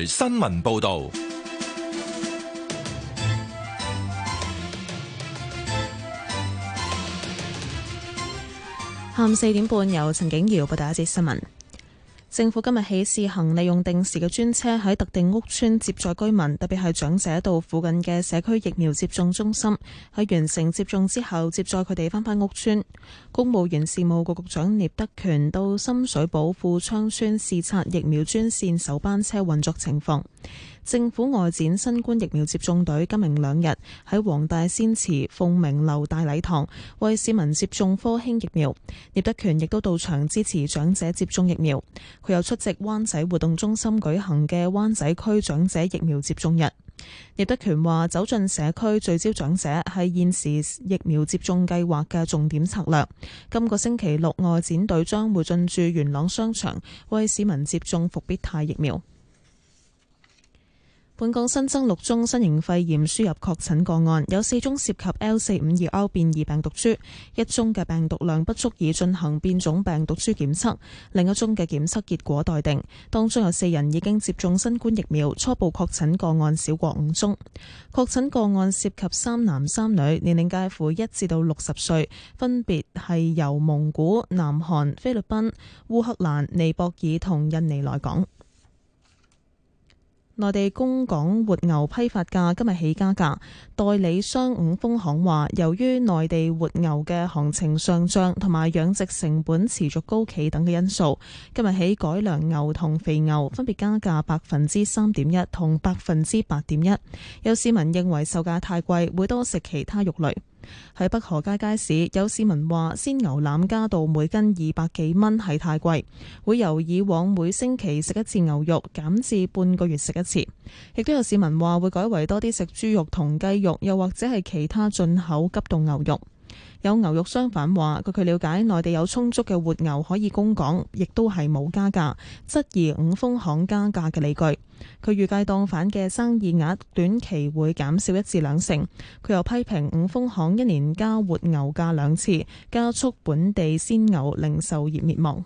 台新聞報導。 下午4點半，由陳景瑤報道一節新聞。政府今日起試行利用定時嘅專車喺特定屋邨接載居民，特別係長者到附近嘅社區疫苗接種中心，喺完成接種之後接載佢哋返屋邨。公務員事務局局長聶德權到深水埗富昌邨視察疫苗專線首班車運作情況。政府外展新冠疫苗接種隊今明兩日喺黃大仙祠鳳鳴樓大禮堂為市民接種科興疫苗。聶德權亦都到場支持長者接種疫苗。佢又出席灣仔活動中心舉行嘅灣仔區長者疫苗接種日。聶德權話：走進社區聚焦長者係現時疫苗接種計劃嘅重點策略。今個星期六，外展隊將會進駐元朗商場為市民接種復必泰疫苗。本港新增6宗新型肺炎輸入確診個案，有4宗涉及 L452R 變異病毒株，1宗嘅病毒量不足以進行變種病毒株檢測，另一宗嘅檢測結果待定。當中有4人已經接種新冠疫苗，初步確診個案少過5宗。確診個案涉及3男3女，年齡介乎1至到60歲，分別係由蒙古、南韓、菲律賓、烏克蘭、尼泊爾同印尼來港。內地供港活牛批發價今日起加價，代理商五豐行話，由於內地活牛嘅行情上漲同埋養殖成本持續高企等嘅因素，今日起改良牛同肥牛分別加價3.1%同8.1%。有市民認為售價太貴，會多食其他肉類。喺北河街街市，有市民話鮮牛腩加到每斤200幾蚊係太貴，會由以往每星期食一次牛肉減至半個月食一次。亦都有市民話會改為多啲食豬肉同雞肉，又或者係其他進口急凍牛肉。有牛肉商販話，據佢了解，內地有充足嘅活牛可以供港，亦都係冇加價，質疑五豐行加價嘅理據。佢預計檔販嘅生意額短期會減少1至2成。佢又批評五豐行一年加活牛價2次，加速本地鮮牛零售業滅亡。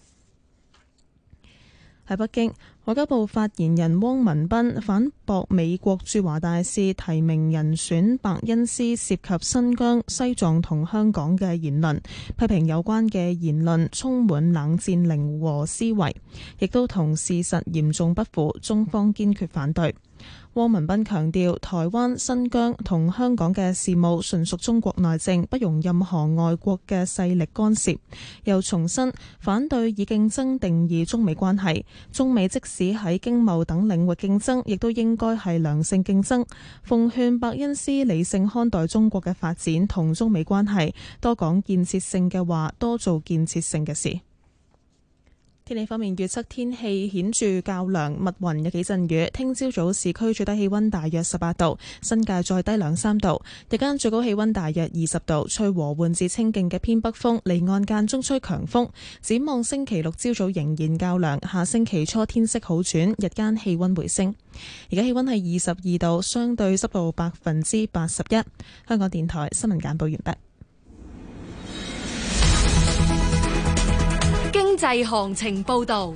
喺北京，外交部發言人汪文斌反駁美國駐華大使提名人選白恩斯涉及新疆、西藏同香港嘅言論，批評有關嘅言論充滿冷戰零和思維，亦都同事實嚴重不符，中方堅決反對。汪文斌強調，台灣、新疆同香港嘅事務純屬中國內政，不容任何外國嘅勢力干涉。又重申反對以競爭定義中美關係，中美即使喺經貿等領域競爭，亦都應該係良性競爭。奉勸伯恩斯理性看待中國嘅發展同中美關係，多講建設性嘅話，多做建設性嘅事。天氣方面，預測天氣顯著較涼，密雲有幾陣雨。聽朝早市區最低氣溫大約18度，新界再低2-3度。日間最高氣溫大約20度，吹和緩至清勁嘅偏北風，離岸間中吹強風。展望星期六朝早仍然較涼，下星期初天色好轉，日間氣溫回升。而家氣溫係22度，相對濕度81%。香港電台新聞簡報完畢。 經濟行情報道。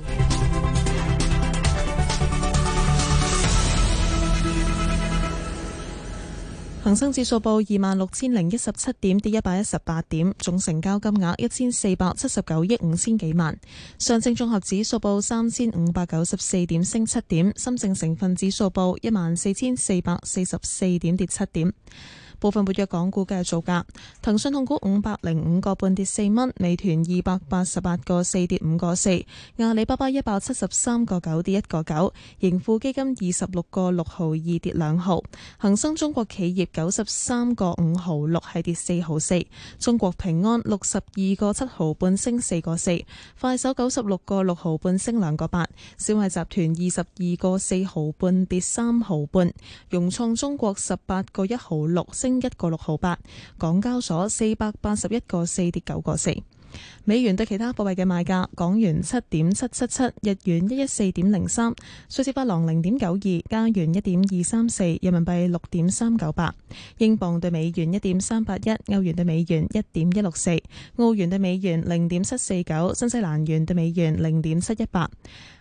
恒生指數報26,017點，跌118點，總成交金額1479億5千幾萬。上證綜合指數報3594點，升7點。深證成分指數報14,444點，跌7點。部分活躍港股嘅造價：騰訊控股505個半跌4蚊，美團288個4跌5個4，阿里巴巴173個9跌1個9，盈富基金26個6毫2跌2毫，恒生中國企業93個5毫6係跌4毫4，中國平安62個7毫半升4個4，快手96個6毫半升2個8，小米集團22個4毫半跌3毫半，融創中國18個1毫6升1個6毫8，港交所481個4跌9個4。美元對其他貨幣嘅賣價：港元7.777，日元114.03，瑞士法郎0.92，加元1.234，人民幣6.398，英鎊對美元1.381，歐元對美元1.164，澳元對美元0.749，新西蘭元對美元0.718。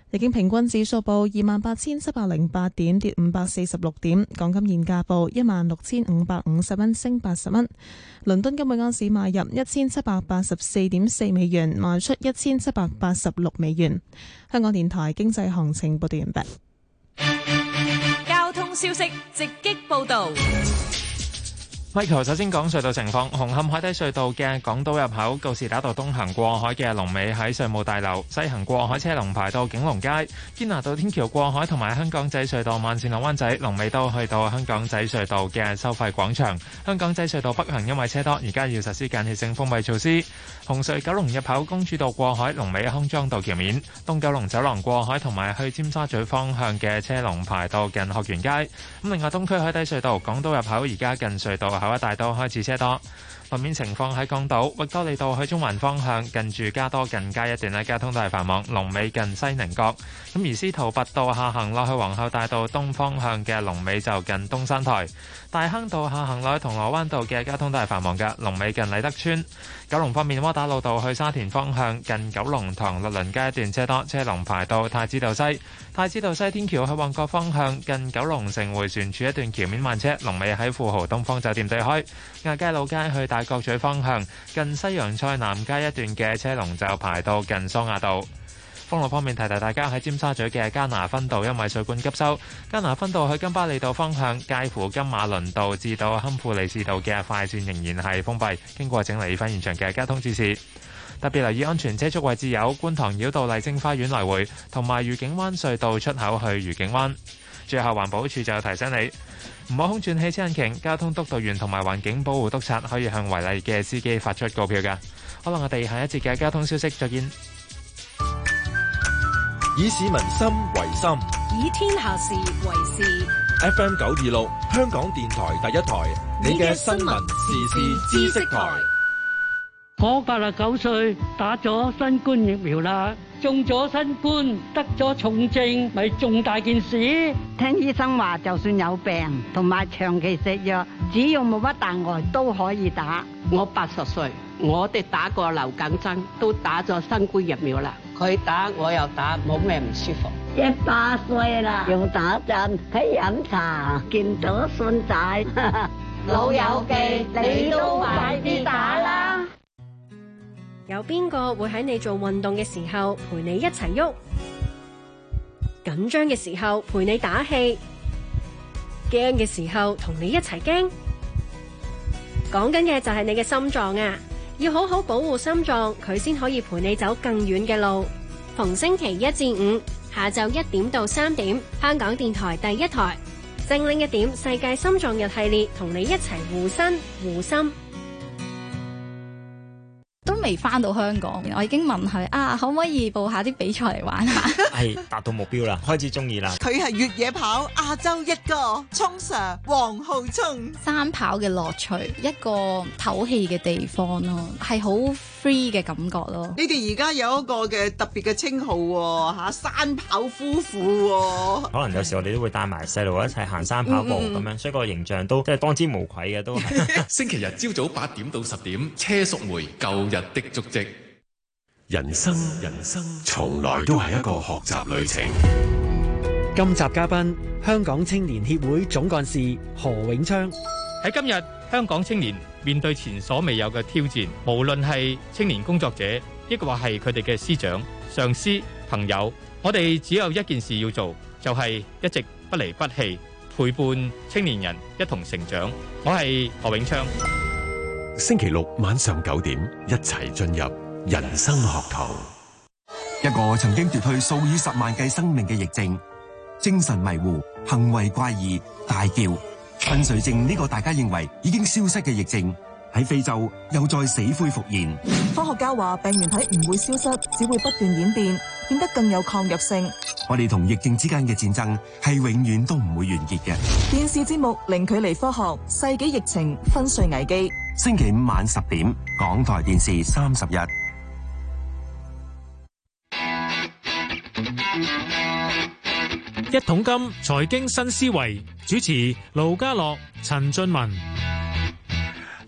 日經平均指數報28,708點，跌546點。港金現價報16,550蚊，升80蚊。倫敦金每盎司買入1784.4美元，賣出1786美元。香港電台經濟行情報道完畢。 交通消息直擊報道。 Michael 首先講隧道情況，紅磡海底隧道嘅港島入口告士打道東行過海嘅龍尾喺稅務大樓，西行過海車龍排到景隆街。堅拿道天橋過海同埋香港仔隧道慢線落灣仔龍尾都去到香港仔隧道嘅收費廣場。香港仔隧道北行因為車多，而家要實施間歇性封閉措施。紅隧九龍入口公主道過海龍尾康莊道橋面，東九龍走廊過海同埋去尖沙咀方向嘅車龍排到近學園街。咁另外東區海底隧道港島入口而家近隧道口一帶都開始車多。路面情況喺港島域多利道去中環方向，近住加多近街一段咧，交通都係繁忙，龍尾近西寧閣。咁而司徒拔道下行落去皇后大道東方向嘅龍尾就近東山台。大坑道下行落去銅鑼灣道嘅交通都係繁忙嘅，龍尾近禮德村。九龍方面，窩打老道去沙田方向近九龍塘律倫街一段車多，車龍排到太子道西。太子道西天橋去旺角方向近九龍城迴旋處一段橋面慢車，龍尾喺富豪東方酒店對開。亞皆老街去大角咀方向近西洋菜南街一段嘅車龍就排到近桑亞道。封路方面，提提大家喺尖沙咀嘅加拿分道因為水管急修，加拿分道去金巴利道方向介乎金馬倫道至到堪富利士道嘅快線仍然係封閉，經過請留意翻現場嘅交通指示。特別留意安全車速位置有觀塘繞道麗晶花園來回同埋愉景灣隧道出口去愉景灣。最後環保署就提醒你唔好空轉汽車引擎，交通督導員同埋環境保護督察可以向違例嘅司機發出告票㗎。可能我哋下一節嘅交通消息再見。 以市民心為心， 以天下事為事。 FM 926香港電台第一台，你嘅新聞時事知識台。 我89歲，打咗新冠疫苗啦，中咗新冠，得咗重症，咪重大件事。 聽醫生話，就算有病同埋長期食藥，只要冇乜大礙都可以打。 我80歲，我哋打過流感針，都打咗新冠疫苗啦。佢打我又打，冇咩唔舒服。 100歲啦，用打針，喺飲茶，見到孫仔， 老友記，你都快啲打啦！ 有邊個會喺你做運動嘅時候陪你一齊喐？緊張嘅時候陪你打氣，驚嘅時候同你一齊驚。講緊嘅就係你嘅心臟啊！要好好保護心臟，佢先可以陪你走更遠嘅路。逢星期1至5下晝1點到3點，香港電台第一台精靈一點世界心臟日系列，同你一齊護身護心。 都未翻到香港，我已經問佢可唔可以報下啲比賽嚟玩下？ 係達到目標啦，開始中意啦。 佢係越野跑亞洲一哥，聰 Sir 黃浩聰。 山跑嘅樂趣，一個唞氣嘅地方咯，係好 free 嘅感覺咯。 你哋而家有一個嘅特別嘅稱號喎，山跑夫婦。 可能有時我哋都會帶埋細路一齊行山跑步咁樣，所以個形象都即係當之無愧嘅都係。 星期日朝早8點到10點，車淑梅舊日的足跡。 人生從來都係一個學習旅程。 今集嘉賓，香港青年協會總幹事何永昌。 喺今日，香港青年面對前所未有嘅挑戰，無論係青年工作者，抑或係佢哋嘅師長、上司、朋友，我哋只有一件事要做，就係一直不離不棄，陪伴青年人一同成長。我係何永昌。 星期六晚上9點，一齊進入人生學堂。 一個曾經奪去數以10萬計生命嘅疫症，精神迷糊、行為怪異、大叫、昏睡症呢個大家認為已經消失嘅疫症，喺非洲又再死灰復燃。 科學家話病原體唔會消失，只會不斷演變，變得更有抗藥性。 我哋同疫症之間嘅戰爭係永遠都唔會完結嘅。 電視節目《零距離科學》，世紀疫情昏睡危機。 星期5晚10點，港台電視31。 一桶金財經新思維，主持盧家樂、陳俊文。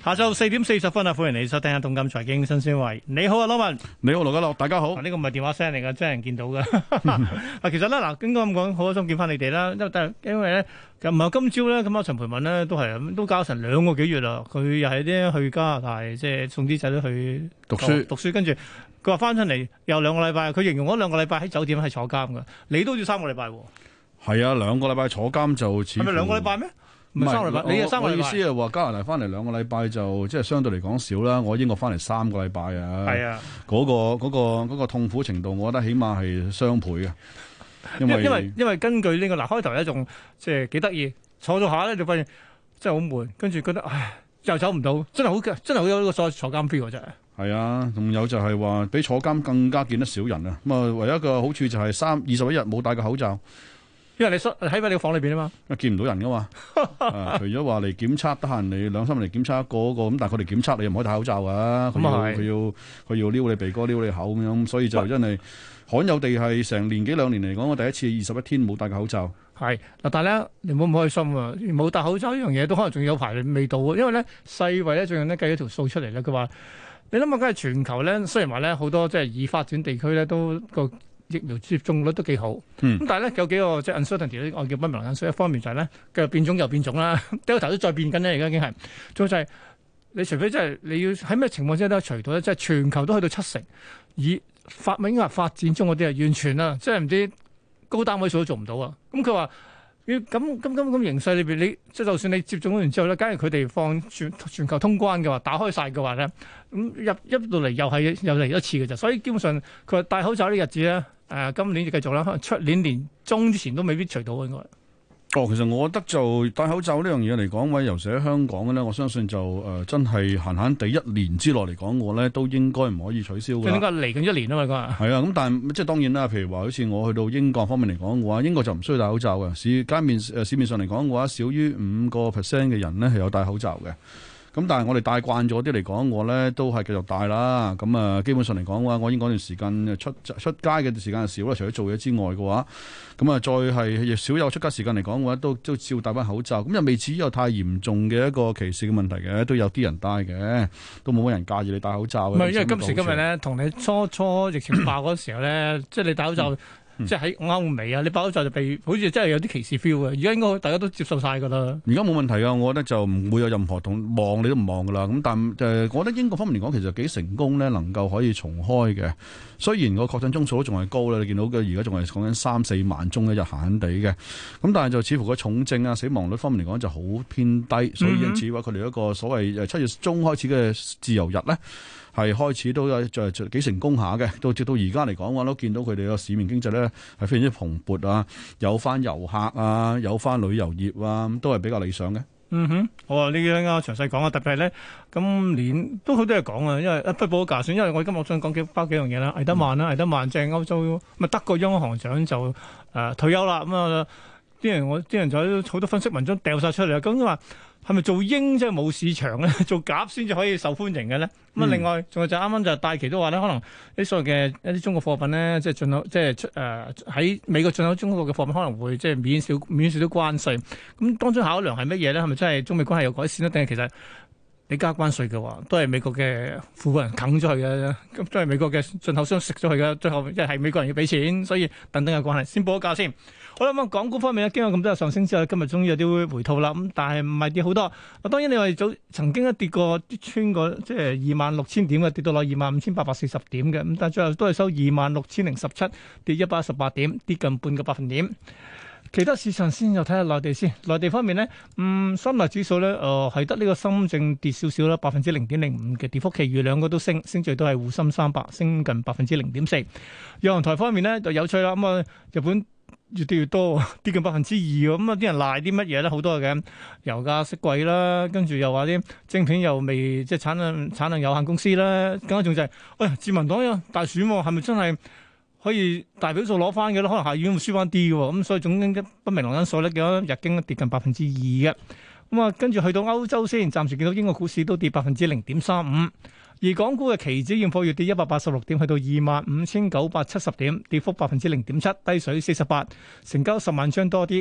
下晝4點40分啊，歡迎你收聽下《動感財經新思維》。你好啊，羅文。 你好，羅家樂，大家好。 呢個唔係電話聲嚟㗎，真人見到㗎。嗱，其實咧，嗱，應該咁講，好開心見翻你哋啦。因為咧，唔係今朝咧，咁啊陳培文咧都搞成2個幾月啦。佢又係啲去加拿大，即係送啲仔女去讀書，跟住佢話翻出嚟又2個禮拜。佢形容嗰2個禮拜喺酒店係坐監㗎。你都要3個禮拜喎。 係啊，2個禮拜坐監就似乎係咪2個禮拜咩？唔係3個禮拜，你係3個禮拜。 我意思係話加拿大翻嚟2個禮拜就即係相對嚟講少啦。我英國翻嚟3個禮拜啊。係啊，嗰個痛苦程度，我覺得起碼係雙倍嘅。因為根據呢個開頭咧，仲即係幾得意，坐咗下咧就發現真係好悶，跟住覺得唉又走唔到，真係好有呢個所謂坐監 feel 真係。係啊，仲有就係話比坐監更加見得少人啊。咁啊，唯一一個好處就係21日冇戴個口罩。因為你喺你個房裏邊啊嘛，見唔到人噶嘛。除咗話嚟檢測，得閒你2-3日嚟檢測一個咁，但係佢哋檢測你又唔可以戴口罩噶。佢要撩你鼻哥、撩你口咁樣，所以就真係罕有地係成年幾2年嚟講，我第一次21天冇戴個口罩。係嗱，但係咧你唔好唔開心啊！冇戴口罩呢樣嘢都可能仲有排味道啊。因為咧世衛咧最近咧計咗條數出嚟咧，佢話你諗下，梗係全球咧，雖然話咧好多即係已發展地區咧都個疫苗接種率都幾好，咁但係咧有幾個即係 uncertainty 我叫不明朗因素。一方面就係咧嘅變種又變種啦，Delta 都再變緊咧，而家已經係。仲有就係你除非即係你要喺咩情況之下都除到咧，即係全球都去到70%，以發展中嗰啲係完全啦，即係唔知高單位數都做唔到啊。咁佢話咁形勢裏邊，你即係就算你接種完之後咧，假如佢哋放全球通關嘅話，打開晒嘅話咧，咁入到嚟又嚟一次嘅啫。所以基本上佢話戴口罩呢日子咧。今年就繼續啦，可能出年年中之前都未必除到應該。其實我覺得就戴口罩呢樣嘢嚟講，尤其喺香港嘅咧，我相信就真係閒閒地1年之內嚟講，我咧都應該唔可以取消嘅。應該嚟緊1年啊嘛，佢係啊，咁但係即係當然啦。譬如話好似我去到英國方面嚟講嘅話，英國就唔需要戴口罩嘅。市面上嚟講嘅話，少於5% 嘅人咧係有戴口罩嘅。咁但係我哋戴慣咗啲嚟講，我咧都係繼續戴啦。咁啊，基本上嚟講嘅話，我已經嗰段時間出街嘅時間少啦，除咗做嘢之外嘅話，咁啊再係少有出街時間嚟講嘅話，都照戴翻口罩。咁又未至於有太嚴重嘅一個歧視嘅問題嘅，都有啲人戴嘅，都冇乜人介意你戴口罩嘅。唔係，因為今時今日咧，同你初疫情爆嗰時候咧，即係你戴口罩。即係喺歐美啊，你戴口罩就被好似真係有啲歧視 feel 嘅。而家應該大家都接受晒㗎啦。而家冇問題啊，我覺得就唔會有任何望你都唔望㗎啦。咁但我覺得英國方面嚟講，其實幾成功咧，能夠可以重開嘅。雖然個確診宗數都仲係高啦，你見到嘅而家仲係講緊3-4萬宗一日閒地嘅。咁但係就似乎個重症啊、死亡率方面嚟講就好偏低，所以因此話佢哋一個所謂7月中開始嘅自由日咧。係開始都有就幾成功下嘅，直到而家嚟講，我都見到佢哋個市面經濟咧係非常之蓬勃啊，有翻遊客啊，有翻旅遊業啊，都係比較理想嘅。好啊，呢啲啱啱詳細講啊，特別係咧今年都好多嘢講啊，因為不保價算，因為我今日想講幾樣嘢啦。魏德曼啦，魏德曼即係歐洲德國央行長就退休啦，咁啊啲人就好多分析文章掉晒出嚟啊，咁話。係咪做鷹即係冇市場咧？做鴿先至可以受歡迎嘅咧？咁啊，另外仲有就啱啱就戴琪都話咧，可能啲所謂嘅一啲中國貨品咧，即係進口，即係喺美國進口中國嘅貨品可能會即係免少啲關稅。咁當中考量係乜嘢咧？係咪真係中美關係有改善咧？定係其實你加關稅嘅話，都係美國嘅富人啃咗佢嘅，咁都係美國嘅進口商食咗佢嘅，最後即係美國人要俾錢，所以等等嘅關係。先報個價先。好啦，咁港股方面咧，經過咁多日上升之後，今日終於有啲回吐啦。咁但係唔係跌好多。當然你話曾經一跌過穿過即係26,000點嘅，跌到落25,840點嘅。咁但係最後都係收26,017，跌118點，跌近半個百分點。其他市場先又睇下內地先。內地方面呢，深圳指數咧，係得呢個深證跌少少啦，0.05%嘅跌幅，其餘兩個都升最多係滬深300升近0.4%。日韓台方面呢，就有趣啦，咁啊日本越跌越多，跌近2%喎。咁啊啲人賴啲乜嘢咧？好多嘅油價息貴啦，跟住又話啲晶片又未即係產能有限公司啦，更加重就係，自民黨有大選喎，係咪真係可以大表數攞翻嘅咧？可能下院會輸翻啲嘅喎，咁所以總經不明朗因素咧，見到日經跌近2%嘅。咁啊，跟住去到歐洲先，暫時見到英國股市都跌0.35%，而港股嘅期指現貨月跌186點，去到25,970點，跌幅0.7%，低水48，成交10萬張多啲。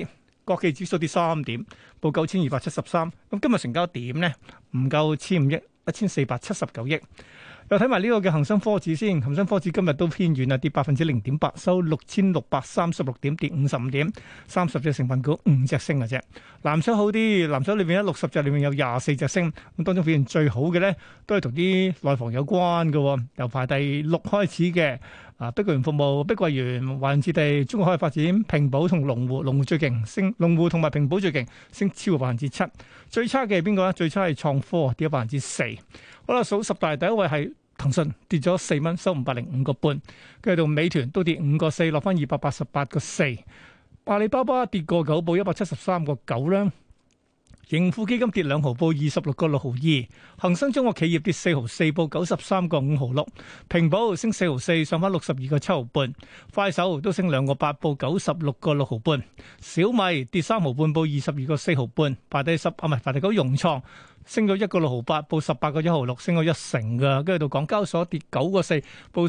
國企指數跌3點，報9273。咁今日成交點呢，唔夠1,500億，1479億。又睇埋呢個嘅恒生科指先，恒生科指今日都偏軟啊，跌0.8%，收6636點，跌55點，30隻成分股5隻升嘅啫。藍籌好啲，藍籌裏邊60隻裏面有24隻升，咁當中表現最好嘅咧，都係同啲內房有關嘅，由排第6開始嘅。碧桂園服務、碧桂園、華潤置地、中國海外發展、平保同龍湖，龍湖最勁，升龍湖同埋平保最勁，升超過7%。最差嘅係邊個咧？最差係創科，跌咗4%。好啦，數十大第一位係騰訊，跌咗4蚊，收505個半。跟住到美團都跌5個4，落翻288個4。阿里巴巴跌個9，報173個9啦。盈富基金跌2毫，報26個6毫2。恒生中國企業跌4毫4，報93個5毫6。平保升4毫4，上翻62個7毫半。快手都升2個8，報96個6毫半。小米跌3毫半，報22個4毫半。排第9，融創升咗1個6毫8，報18個1毫6，升咗1成噶。跟住到港交所跌9個4，報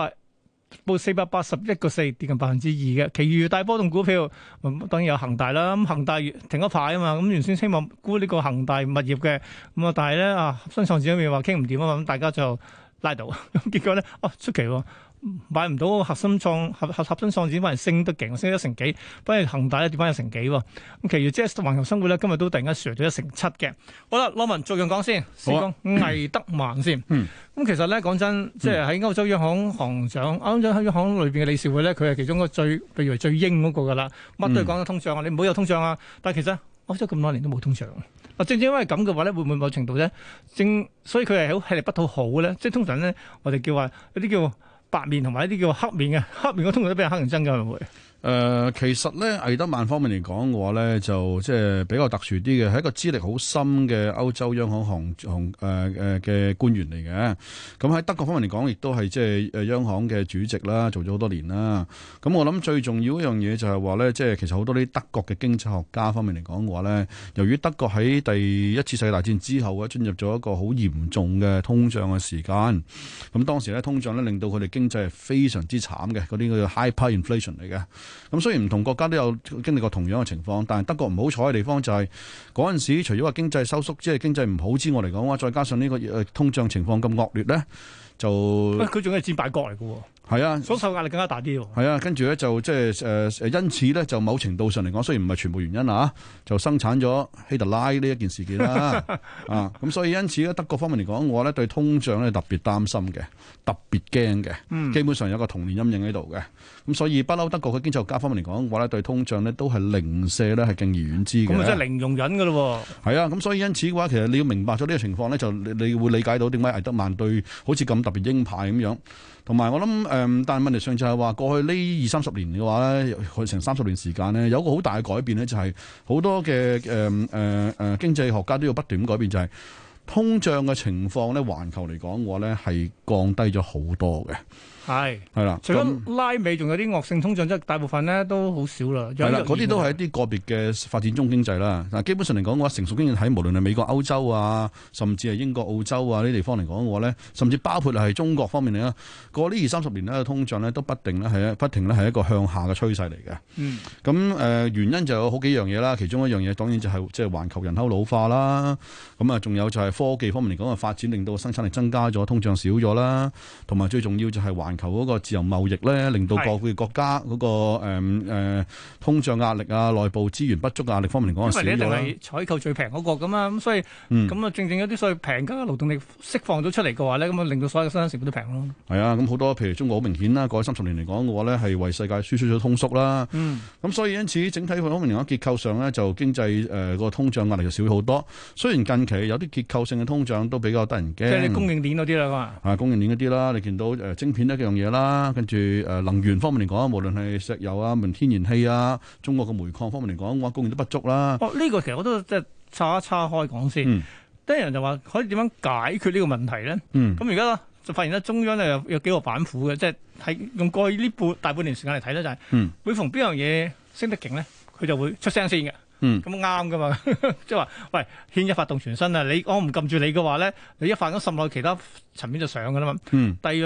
481個4，跌近2%嘅。其餘大波動股票，當然有恒大啦。咁恒大停咗牌啊嘛，咁原先希望沽呢個恒大物業嘅，咁啊但係咧合生創展嗰邊話傾唔掂啊嘛，咁大家就拉倒。咁結果咧，出奇喎，買唔到合生創展，反而升得勁，升咗1成幾，反而恒大咧跌翻1成幾喎。咁其餘即係環球生活咧，今日都突然間上咗1成7嘅。好啦，羅文逐樣講先講魏德曼先。咁其實咧講真，即係喺歐洲央行行長、歐洲央行裏邊嘅理事會咧，佢係其中個最被譽為最鷹嗰個噶啦，乜都係講緊通脹啊，你唔好有通脹啊。但係其實歐洲咁多年都冇通脹。正因為咁嘅話咧，會唔會某程度咧，所以佢係好吃力不討好咧？即係通常咧，我哋叫話有啲叫白面同埋一啲叫黑面嘅，黑面嗰通常都俾人黑人憎㗎，會唔會？ 其實咧，魏德曼方面嚟講嘅話咧，就即係比較特殊啲嘅，係一個資歷好深嘅歐洲央行嘅官員嚟嘅。咁喺德國方面嚟講，亦都係即係央行嘅主席啦，做咗好多年啦。咁我諗最重要一樣嘢就係話咧，即係其實好多啲德國嘅經濟學家方面嚟講嘅話咧，由於德國喺第一次世界大戰之後咧，進入咗一個好嚴重嘅通脹嘅時間。咁當時咧，通脹咧令到佢哋經濟係非常之慘嘅，嗰啲叫 hyper inflation 嚟嘅。咁雖然唔同國家都有經歷過同樣嘅情況，但係德國唔好彩嘅地方就係嗰陣時，除咗話經濟收縮，即係經濟唔好之外嚟講嘅話，再加上呢個通脹情況咁惡劣咧，就佢仲係戰敗國嚟嘅喎。 係啊， 所受壓力更加大啲喎。 係啊，跟住咧就即係因此咧就某程度上嚟講，雖然唔係全部原因啊，就生產咗希特拉呢一件事件啦。咁所以因此咧，德國方面嚟講，我咧對通脹咧特別擔心嘅，特別驚嘅，基本上有個童年陰影喺度嘅。咁所以不嬲德國嘅經濟學家方面嚟講，我咧對通脹咧都係零舍咧係敬而遠之嘅。 咁啊真係零容忍㗎咯喎。係啊，咁所以因此嘅話，其實你要明白咗呢個情況咧，就你會理解到點解魏德曼對好似咁特別鷹派咁樣。同埋我諗但係問題上就係話過去呢20-30年嘅話咧，佢成30年時間咧，有一個好大嘅改變咧，就係好多嘅經濟學家都要不斷咁改變，就係通脹嘅情況咧，環球嚟講嘅話咧係降低咗好多嘅。係啦， 除咗拉美，仲有啲惡性通脹，即係大部分咧都好少啦。 係啦，嗰啲都係一啲個別嘅發展中經濟啦。嗱，基本上嚟講嘅話，成熟經濟體無論係美國、歐洲啊，甚至係英國、澳洲啊呢啲地方嚟講嘅話咧，甚至包括係中國方面嚟啦，過呢20-30年咧，通脹咧都不停咧係一個向下嘅趨勢嚟嘅。咁原因就有好幾樣嘢啦，其中一樣嘢當然就係即係環球人口老化啦。咁啊，仲有就係科技方面嚟講嘅發展，令到生產力增加咗，通脹少咗啦。同埋最重要就係求嗰個自由貿易咧，令到各個國家嗰個通脹壓力啊、內部資源不足壓力方面嚟講係少咗啦。因為你一定係採購最平嗰個咁啊，咁所以咁啊，正正有啲所謂平價嘅勞動力釋放咗出嚟嘅話咧，咁啊令到所有嘅生產成本都平咯。係啊，咁好多譬如中國好明顯啦，過去30年嚟講嘅話咧，係為世界輸出咗通縮啦。咁所以因此整體方面嚟講，結構上咧就經濟個通脹壓力就少咗好多。雖然近期有啲結構性嘅通脹都比較得人驚。即係你供應鏈嗰啲啦嘛。供應鏈嗰啲啦，你見到晶片一樣嘢啦，跟住能源方面嚟講，無論係石油啊、天然氣啊，中國嘅煤礦方面嚟講，我供應都不足啦。呢個其實我都即係岔一岔開講先。啲人就話可以點樣解決呢個問題咧？咁而家就發現咧，中央咧有幾個板斧嘅，即係喺用過去呢大半年時間嚟睇咧，就係每逢邊樣嘢升得勁咧，佢就會出聲先嘅。咁啱噶嘛？即係話，喂，牽一發動全身啊！我唔撳住你嘅話咧，你一發咁滲落其他層面就上噶啦嘛。第二樣咧。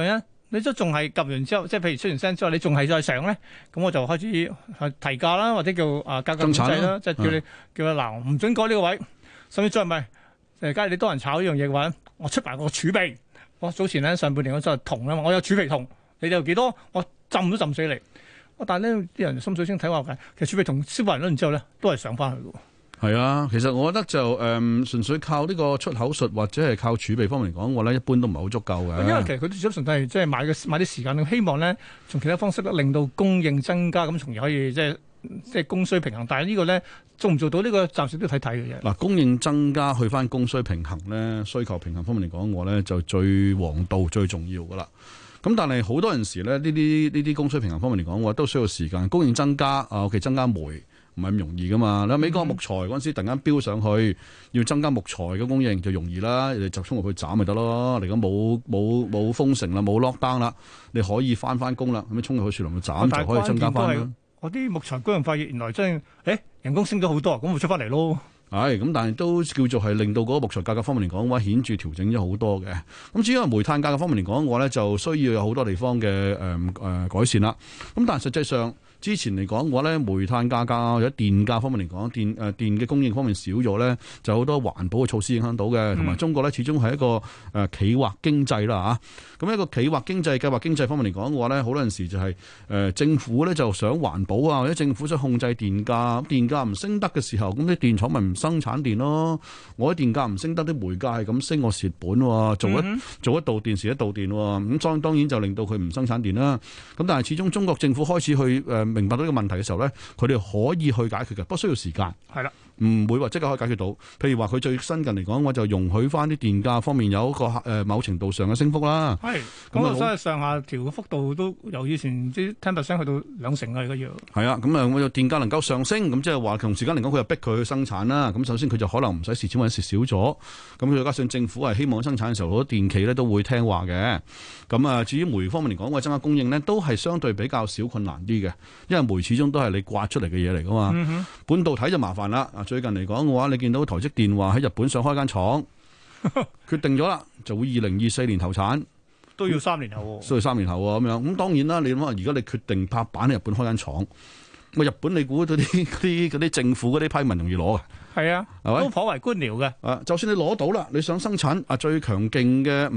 你都仲係撳完之後，即係譬如出完聲之後，你仲係再上咧，咁我就開始提價啦，或者叫價格控制啦，即係叫你嗱唔準改呢個位，甚至再唔係假如你多人炒呢樣嘢嘅話，我出埋個儲備。我早前咧上半年我就係銅啊嘛，我有儲備銅，你哋有幾多？我浸都浸死你。但係呢啲人心水清睇話嘅，其實儲備銅消化完之後咧，都係上翻去嘅。 係啊，其實我覺得就純粹靠呢個出口術或者係靠儲備方面嚟講，我咧一般都唔係好足夠嘅。 因為其實佢哋純粹係即係買啲時間，希望咧從其他方式咧令到供應增加，咁從而可以即係供需平衡。但係呢個咧做唔做到呢個，暫時都睇睇嘅啫。嗱， 供應增加去翻供需平衡咧，需求平衡方面嚟講，我咧就最王道最重要噶啦。咁但係好多陣時咧，呢啲供需平衡方面嚟講，我都需要時間。供應增加增加煤唔係咁容易噶嘛。你美國木材嗰陣時突然間飆上去，要增加木材嘅供應就容易啦，你集中落去斬咪得咯。嚟講冇封城啦，冇 lockdown 啦，你可以翻工啦，咁樣衝入去樹林度斬就可以增加翻。 我啲木材工業化業原來真係人工升咗好多，咁咪出翻嚟咯。 係咁，但係都叫做係令到嗰個木材價格方面嚟講嘅話，顯著調整咗好多嘅。咁至於煤炭價格方面嚟講嘅話咧，就需要有好多地方嘅改善啦。咁但係實際上之前嚟講嘅話咧，煤炭價格或者電價方面嚟講，電嘅供應方面少咗咧，就好多環保嘅措施影響到嘅。同埋中國咧，始終係一個企劃經濟啦嚇。咁一個企劃經濟、計劃經濟方面嚟講嘅話咧，好多陣時就係政府咧就想環保啊，或者政府想控制電價，電價唔升得嘅時候，咁啲電廠咪唔生產電咯。我啲電價唔升得，啲煤價係咁升，我蝕本喎。做一度電時一度電喎，咁當然就令到佢唔生產電啦。咁但係始終中國政府開始去明白到呢個問題嘅時候咧，佢哋可以去解決嘅，不需要時間。係啦，唔會話即刻可以解決到。譬如話佢最新近嚟講，我就容許翻啲電價方面有一個某程度上嘅升幅啦。係咁啊，所以上下調嘅幅度都由以前啲 10% 去到2成啊，而家要係啊。咁啊，我就電價能夠上升，咁即係話同時間嚟講，佢又逼佢去生產啦。咁首先佢就可能唔使蝕錢或者蝕少咗。咁再加上政府係希望生產嘅時候，好多電企咧都會聽話嘅。咁啊，至於煤方面嚟講，我增加供應呢，都係相對比較少困難啲嘅。因為煤始終都係你刮出嚟嘅嘢嚟噶嘛，半導體就麻煩啦。最近嚟講嘅話，你見到台積電話喺日本想開間廠，決定咗啦，就會2024年投產， 都要3年後， 需要3年後咁樣。咁當然啦，你諗下，而家你決定拍板喺日本開間廠，咁日本你估嗰啲政府嗰啲批文容易攞嘅？係啊，都頗為官僚嘅。就算你攞到啦，你想生產最強勁嘅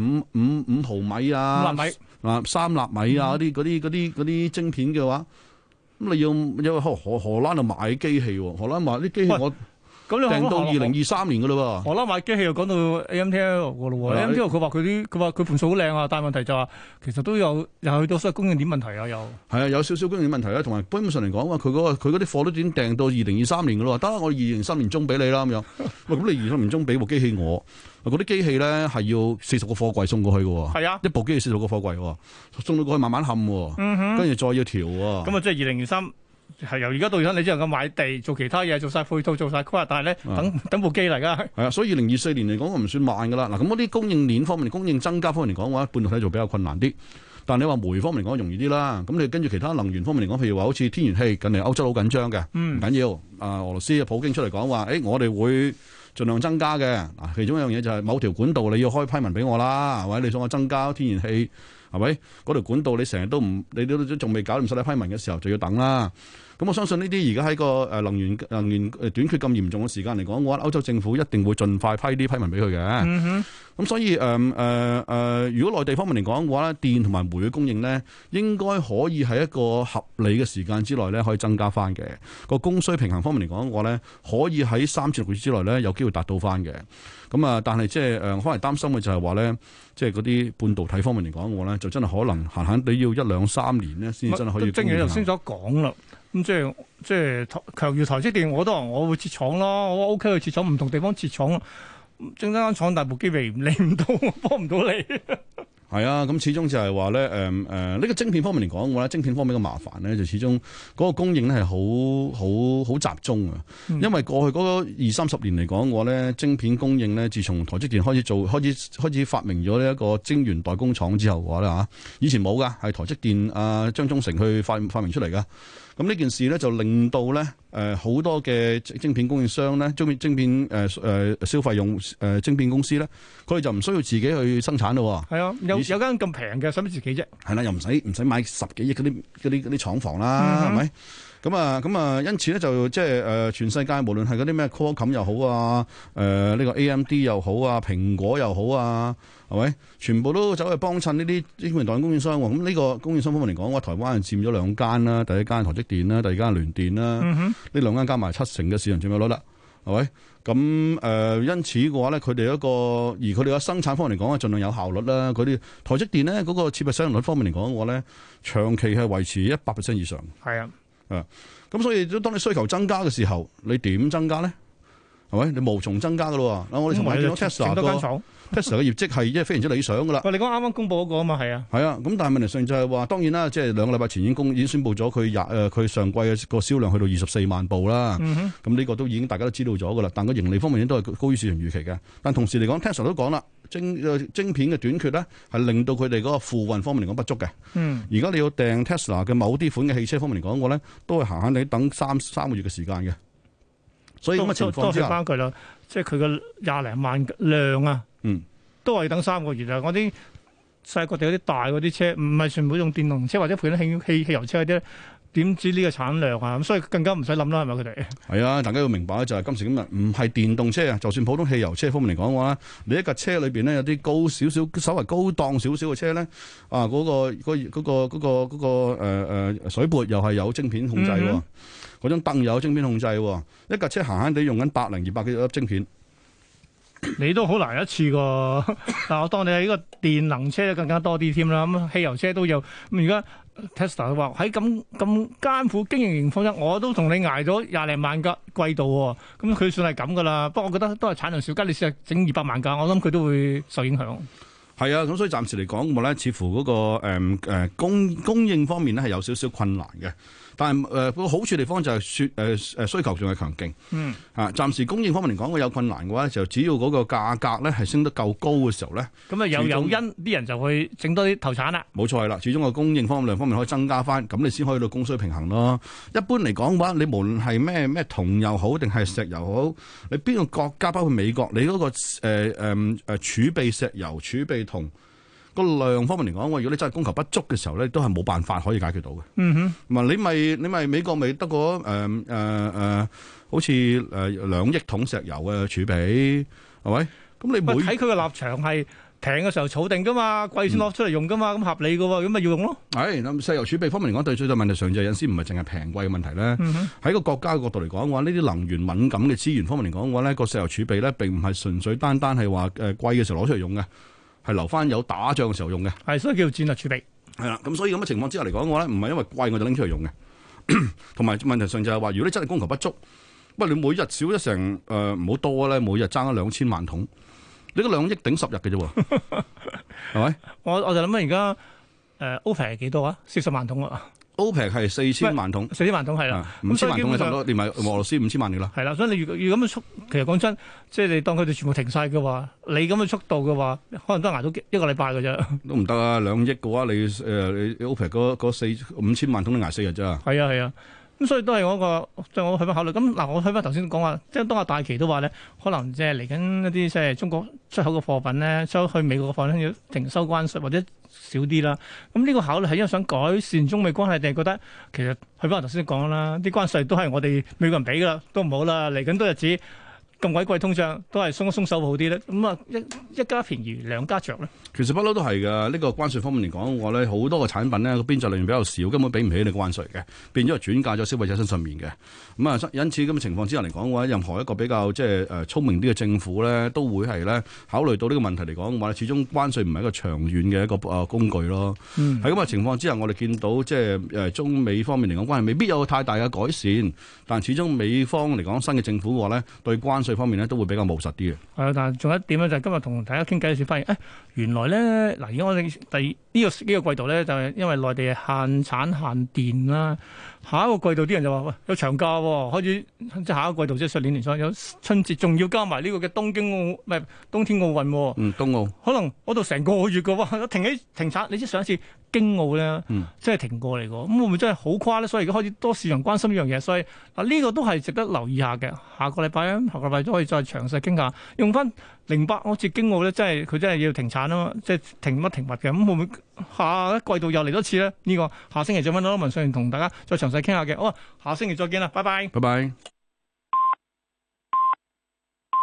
5毫米啊，5納米3納米啊嗰啲晶片嘅話。咁你要荷蘭度買機器喎，荷蘭買啲機器我訂到2023年噶啦喎。 荷蘭買機器又講到 AMTL 噶咯喎，AMTL 佢話佢盤數好靚啊，但係問題就話其實都有又去到所謂供應鏈問題啊，又係啊，有少少供應鏈問題啦，同埋基本上嚟講話佢嗰啲貨都已經訂到2023年噶啦，得我2023年中俾你啦咁樣。喂，咁你2023年中俾部機器我？嗰啲機器咧係要40個貨櫃送過去嘅，係啊，一部機器40個貨櫃，送到過去慢慢冚，跟住再要調。咁啊，即係2023係由而家到而家，你只能夠買地做其他嘢，做晒配套，做晒規劃，但係咧等部機嚟噶。係啊，所以2024年嚟講，我唔算慢噶啦。嗱，咁嗰啲供應鏈方面、供應增加方面嚟講嘅話，半導體就比較困難啲。但係你話煤方面嚟講容易啲啦。咁你跟住其他能源方面嚟講，譬如話好似天然氣，近嚟歐洲好緊張嘅，唔緊要。俄羅斯普京出嚟講話，我哋會盡量增加嘅。嗱，其中一樣嘢就係某條管道你要開批文俾我啦，或者你想我增加天然氣，係咪？嗰條管道你成日都唔，你都仲未搞掂晒啲批文嘅時候，就要等啦。咁我相信呢啲而家喺個能源短缺咁嚴重嘅時間嚟講，我覺得歐洲政府一定會盡快批啲批文俾佢嘅。咁所以如果內地方面嚟講嘅話咧，電同埋煤嘅供應咧，應該可以喺一個合理嘅時間之內咧，可以增加翻嘅。個供需平衡方面嚟講嘅話咧，可以喺3至6個月之內咧，有機會達到翻嘅。咁但係即係可能擔心嘅就係話咧，即係嗰啲半導體方面嚟講嘅話咧，就真係可能閒閒地要1、2、3年咧，先真係可以。正如頭先所講啦。咁即係強如台積電，我都話我會設廠咯，我 OK 去設廠，唔同地方設廠咯。整間廠大部機微理唔到，幫唔到你。係啊，咁始終就係話咧，呢個晶片方面嚟講嘅話咧，晶片方面嘅麻煩咧，就始終嗰個供應咧係好集中啊。因為過去嗰20-30年嚟講嘅話咧，晶片供應咧，自從台積電開始發明咗呢一個晶圓代工廠之後嘅話咧嚇，以前冇噶，係台積電張忠誠去發明出嚟噶。咁咁呢件事咧就令到咧好多嘅晶片供應商咧，晶片消費用晶片公司咧，佢哋就唔需要自己去生產咯。 係啊，有間咁平嘅，使乜自己啫？ 係啦，又唔使買10幾億嗰啲廠房啦，係咪？咁啊，因此咧就即係全世界無論係嗰啲咩 Qualcomm 又好啊，呢個 AMD 又好啊，蘋果又好啊，係咪？全部都走去幫襯呢啲晶片代工供應商喎。咁呢個供應商方面嚟講，台灣係佔咗2間啦，第一間台積電啦，第二間聯電啦，呢2間加埋70%嘅市場佔有率啦，係咪？咁因此嘅話咧，佢哋而佢哋嘅生產方面嚟講，盡量有效率啦。佢哋台積電咧嗰個設備使用率方面嚟講嘅話咧，長期係維持100% 以上。係啊。咁所以當你需求增加嘅時候，你點增加咧？係咪？你無從增加噶咯喎。我哋尋日見到 Tesla 嘅業績係非常之理想噶啦。 喂，你講啱啱公佈嗰個啊嘛，係啊。係啊， 咁但係問題上就係話，當然啦，即係2個禮拜前已經宣布咗佢上季嘅個銷量去到24萬部啦。咁呢個都已經大家都知道咗噶啦。但個盈利方面都係高於市場預期嘅。但同時嚟講 ，Tesla 都講啦，晶片嘅短缺咧係令到佢哋嗰個付運方面嚟講不足嘅。而家你要訂 Tesla 嘅某啲款嘅汽車方面嚟講，我咧都係閒閒地等3個月嘅時間嘅。所以咁嘅情況之下，都翻佢啦，即係佢個20零萬量啊，都係等3個月啊！我啲世界各地嗰啲大嗰啲車，唔係全部用電動車或者配緊汽油車嗰啲，點知呢個產量啊？咁所以更加唔使諗啦，係咪佢哋？係啊，大家要明白咧，就係今時今日唔係電動車啊，就算普通汽油車方面嚟講嘅話，你一架車裏邊咧有啲高少少、稍為高檔少少嘅車咧，啊嗰個水撥又係有晶片控制喎。嗰張凳有晶片控制喎，一架車閒閒地用緊100零200幾粒晶片， 你都好難一次過。但我當你係呢個電能車更加多啲添啦，咁汽油車都有。咁而家 Tesla 話喺咁艱苦經營情況下，我都同你捱咗20零萬架季度喎。咁佢算係咁噶啦。不過我覺得都係產量少，加你試下整200萬架，我諗佢都會受影響。 係啊，咁所以暫時嚟講，我咧似乎嗰個供應方面咧係有少少困難嘅。但係個好處地方就係需求仲係強勁。暫時供應方面嚟講，有困難嘅話，就只要嗰個價格咧係升得夠高嘅時候咧，咁啊有因啲人就去整多啲投產啦。冇錯係啦，始終個供應量方面可以增加翻，咁你先可以到供需平衡咯。一般嚟講嘅話，你無論係咩銅又好定係石油好，你邊個國家包括美國，你嗰個儲備石油、儲備銅個量方面嚟講，如果你真係供求不足嘅時候咧，都係冇辦法可以解決到嘅。你咪美國咪得個好似2億桶石油嘅儲備係咪？咁你睇佢嘅立場係平嘅時候儲定噶嘛，貴先攞出嚟用噶嘛，咁合理嘅喎，咁咪要用咯。係咁石油儲備方面嚟講，對最大問題上就有陣時唔係淨係平貴嘅問題咧。喺個國家嘅角度嚟講嘅話，呢啲能源敏感嘅資源方面嚟講嘅話咧，個石油儲備咧並唔係純粹單係話貴嘅時候攞出嚟用嘅。係留翻有打仗嘅時候用嘅，係所以叫做戰略儲備。係啦，咁所以咁嘅情況之下嚟講嘅話咧，唔係因為貴我就拎出嚟用嘅，同埋問題上就係話，如果你真係供求不足，喂你每日少咗成唔好多咧，每日爭咗2000萬桶，你個2億頂10日嘅啫喎，係咪？我就諗緊而家OPEC 係幾多啊？40萬桶啊！OPEC 係4000萬桶，4000萬桶係啦，5000萬桶係差唔多，連埋俄羅斯5000萬嘅啦。係啦，所以你要咁嘅速，其實講真，即係你當佢哋全部停晒嘅話，你咁嘅速度嘅話，可能都捱到1個禮拜嘅啫。都唔得啊！2億嘅話，你 OPEC 嗰5000萬桶你捱4日咋？係啊係啊。咁所以都係我個，即係我去翻考慮。咁嗱，我去翻頭先講話，即係當阿大旗都話咧，可能即係嚟緊一啲即係中國出口嘅貨品咧，出去美國嘅貨品要停收關稅或者少啲啦。咁呢個考慮係因為想改善中美關係，定係覺得其實去翻頭先講啦，啲關稅都係我哋美國人俾噶啦，都唔好啦。嚟緊多日子咁鬼貴通脹，都係鬆一鬆手好啲咧。咁啊，一家便宜兩家着咧。其實不嬲都係㗎，呢個關稅方面嚟講，我咧好多個產品咧個邊際利潤比較少，根本俾唔起你關稅嘅，變咗係轉嫁咗消費者身上面嘅。咁啊，因此咁嘅情況之下嚟講嘅話，任何一個比較即係聰明啲嘅政府咧，都會係咧考慮到呢個問題嚟講嘅話，始終關稅唔係一個長遠嘅一個工具咯。喺咁嘅情況之下，我哋見到即係中美方面嚟講關係未必有太大嘅改善，但始終美方嚟講新嘅政府嘅話咧，對關稅方面咧都會比較務實啲嘅。係啊，但係仲有一點咧，就係今日同大家傾偈嘅時發現，原來咧嗱，而家我哋呢個季度咧，就係因為內地限產限電啦， 下一個季度啲人就話喂有長假喎，開始即係下一個季度即係上年年初有春節，仲要加埋呢個嘅東京奧唔係冬天奧運喎。 冬奧可能嗰度成個月嘅喎，停產。你知上一次京奧咧，真係停過嚟嘅，咁會唔會真係好誇咧？所以而家開始多市場關心呢樣嘢，所以嗱呢個都係值得留意下嘅。下個禮拜都可以再詳細傾下，用翻08好似京奧咧，佢真係要停產啊嘛，即係停乜停物嘅，咁會唔會下一季度又嚟多次咧？呢個下星期再揾到文上同大家再詳細傾下嘅。好啊，下星期再見啦，拜拜。 拜拜。